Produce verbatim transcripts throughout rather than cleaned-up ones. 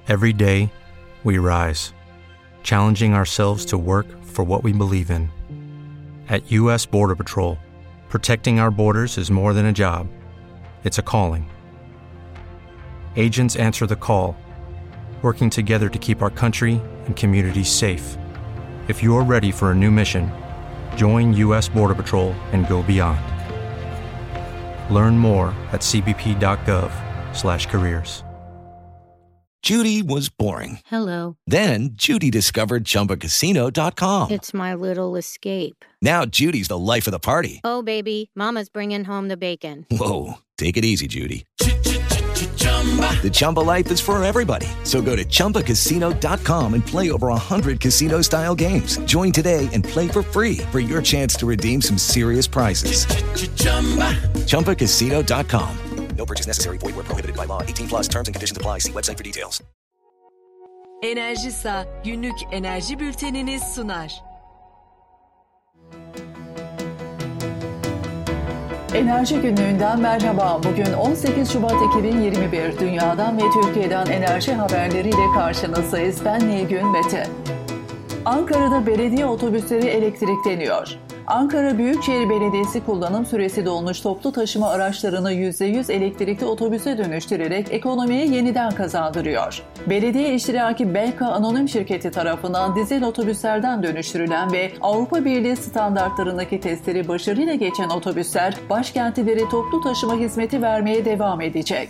Every day, we rise, challenging ourselves to work for what we believe in. At U S Border Patrol, protecting our borders is more than a job. It's a calling. Agents answer the call, working together to keep our country and communities safe. If you're ready for a new mission, join U S Border Patrol and go beyond. Learn more at cbp.gov slash careers. Judy was boring. Hello. Then Judy discovered Chumba Casino dot com. It's my little escape. Now Judy's the life of the party. Oh, baby, mama's bringing home the bacon. Whoa, take it easy, Judy. The Chumba life is for everybody. So go to Chumba Casino dot com and play over one hundred casino-style games. Join today and play for free for your chance to redeem some serious prizes. Chumba Casino dot com. No purchase necessary. Void where prohibited by law. eighteen plus terms and conditions apply. See website for details. Enerjisa günlük enerji bülteniniz sunar. Enerji Günlüğü'nden merhaba. Bugün on sekiz Şubat iki bin yirmi bir. Dünyadan ve Türkiye'den enerji haberleriyle karşınızdayız. Ben Nilgün Mete. Ankara'da belediye otobüsleri elektrikleniyor. Ankara Büyükşehir Belediyesi kullanım süresi dolmuş toplu taşıma araçlarını yüzde yüz elektrikli otobüse dönüştürerek ekonomiye yeniden kazandırıyor. Belediye iştiraki Belka Anonim Şirketi tarafından dizel otobüslerden dönüştürülen ve Avrupa Birliği standartlarındaki testleri başarıyla geçen otobüsler başkentlere toplu taşıma hizmeti vermeye devam edecek.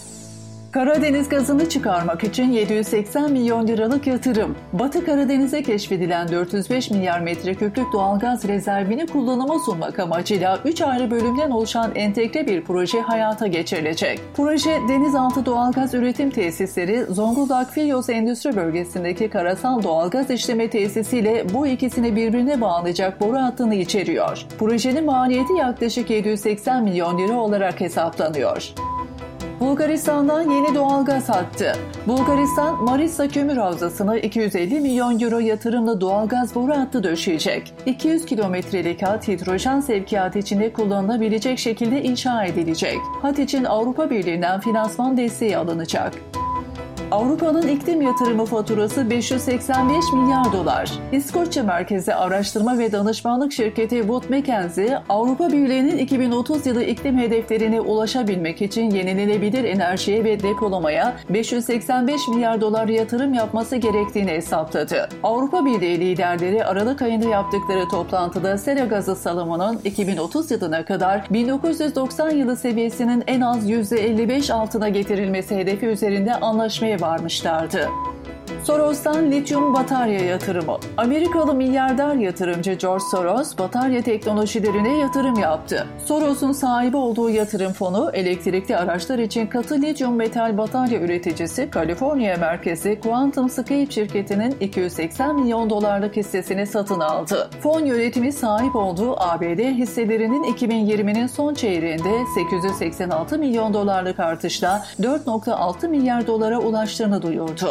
Karadeniz gazını çıkarmak için yedi yüz seksen milyon liralık yatırım. Batı Karadeniz'e keşfedilen dört yüz beş milyar metreküplük doğalgaz rezervini kullanıma sunmak amacıyla üç ayrı bölümden oluşan entegre bir proje hayata geçirilecek. Proje, denizaltı doğalgaz üretim tesisleri, Zonguldak Filyos Endüstri Bölgesi'ndeki karasal doğalgaz işleme tesisiyle bu ikisini birbirine bağlayacak boru hattını içeriyor. Projenin maliyeti yaklaşık yedi yüz seksen milyon lira olarak hesaplanıyor. Bulgaristan'dan yeni doğalgaz hattı. Bulgaristan, Marisa Kömür Havzası'na iki yüz elli milyon euro yatırımla doğalgaz boru hattı döşeyecek. iki yüz kilometrelik hat hidrojen sevkiyatı içinde kullanılabilecek şekilde inşa edilecek. Hat için Avrupa Birliği'nden finansman desteği alınacak. Avrupa'nın iklim yatırımı faturası beş yüz seksen beş milyar dolar. İskoçya merkezli araştırma ve danışmanlık şirketi Wood Mackenzie, Avrupa Birliği'nin iki bin otuz yılı iklim hedeflerine ulaşabilmek için yenilenebilir enerjiye ve depolamaya beş yüz seksen beş milyar dolar yatırım yapması gerektiğini hesapladı. Avrupa Birliği liderleri Aralık ayında yaptıkları toplantıda sera gazı salımının iki bin otuz yılına kadar bin dokuz yüz doksan yılı seviyesinin en az yüzde elli beş altına getirilmesi hedefi üzerinde anlaşmaya varmışlardı. Soros'tan lityum batarya yatırımı. Amerikalı milyarder yatırımcı George Soros, batarya teknolojilerine yatırım yaptı. Soros'un sahibi olduğu yatırım fonu, elektrikli araçlar için katı lityum metal batarya üreticisi Kaliforniya merkezli QuantumScape şirketinin iki yüz seksen milyon dolarlık hissesini satın aldı. Fon yönetimi sahip olduğu A B D hisselerinin iki bin yirminin son çeyreğinde sekiz yüz seksen altı milyon dolarlık artışla dört virgül altı milyar dolara ulaştığını duyurdu.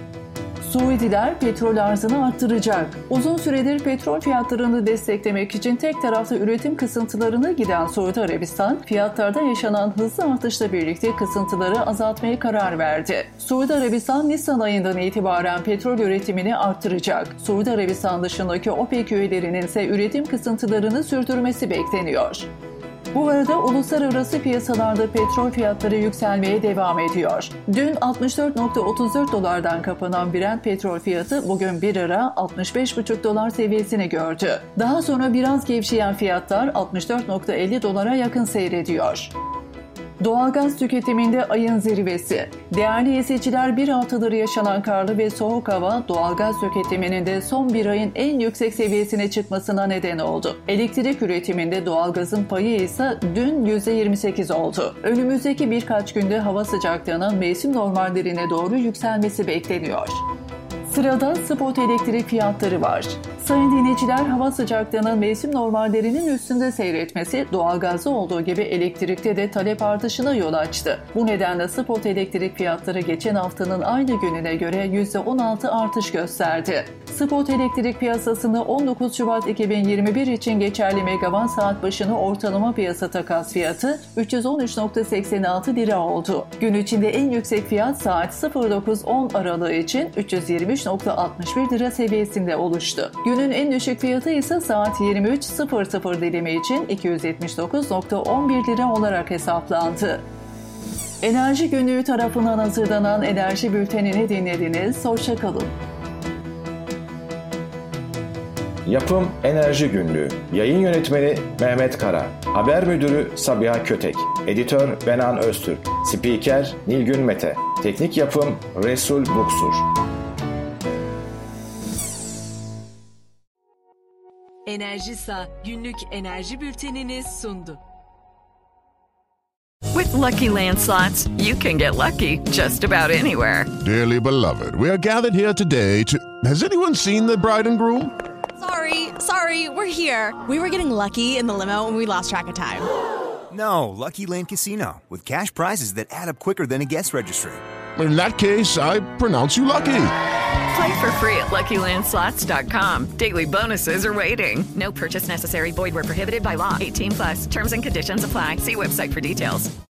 Suudiler petrol arzını arttıracak. Uzun süredir petrol fiyatlarını desteklemek için tek taraflı üretim kısıntılarına giden Suudi Arabistan, fiyatlarda yaşanan hızlı artışla birlikte kısıntıları azaltmaya karar verdi. Suudi Arabistan, Nisan ayından itibaren petrol üretimini arttıracak. Suudi Arabistan dışındaki OPEC üyelerinin ise üretim kısıntılarını sürdürmesi bekleniyor. Bu arada uluslararası piyasalarda petrol fiyatları yükselmeye devam ediyor. Dün altmış dört virgül otuz dört dolardan kapanan Brent petrol fiyatı bugün bir ara altmış beş virgül beş dolar seviyesini gördü. Daha sonra biraz gevşeyen fiyatlar altmış dört virgül elli dolara yakın seyrediyor. Doğalgaz tüketiminde ayın zirvesi. Değerli izleyiciler, bir haftadır yaşanan karlı ve soğuk hava doğalgaz tüketiminin de son bir ayın en yüksek seviyesine çıkmasına neden oldu. Elektrik üretiminde doğalgazın payı ise dün yüzde yirmi sekiz oldu. Önümüzdeki birkaç günde hava sıcaklığının mevsim normallerine doğru yükselmesi bekleniyor. Sırada spot elektrik fiyatları var. Sayın dinleyiciler, hava sıcaklığının mevsim normallerinin üstünde seyretmesi doğalgazda olduğu gibi elektrikte de talep artışına yol açtı. Bu nedenle spot elektrik fiyatları geçen haftanın aynı gününe göre yüzde on altı artış gösterdi. spot elektrik piyasasında on dokuz Şubat iki bin yirmi bir için geçerli megawatt saat başına ortalama piyasa takas fiyatı üç yüz on üç virgül seksen altı lira oldu. Gün içinde en yüksek fiyat saat sıfır dokuz on aralığı için üç yüz yirmi üç virgül altmış bir lira seviyesinde oluştu. Günün en düşük fiyatı ise saat yirmi üç sıfır sıfır dilimi için iki yüz yetmiş dokuz virgül on bir lira olarak hesaplandı. Enerji Günlüğü tarafından hazırlanan Enerji Bülteni'ni dinlediniz. Hoşça kalın. Yapım Enerji Günlüğü. Yayın yönetmeni Mehmet Kara. Haber müdürü Sabiha Kötek. Editör Benan Öztürk. Spiker Nilgün Mete. Teknik yapım Resul Buksur. Enerjisa günlük enerji bültenini sundu. With Lucky Land Slots, you can get lucky just about anywhere. Dearly beloved, we are gathered here today to... Has anyone seen the bride and groom? Sorry, sorry, we're here. We were getting lucky in the limo and we lost track of time. No, Lucky Land Casino, with cash prizes that add up quicker than a guest registry. In that case, I pronounce you lucky. Play for free at lucky land slots dot com. Daily bonuses are waiting. No purchase necessary. Void where prohibited by law. eighteen plus. Terms and conditions apply. See website for details.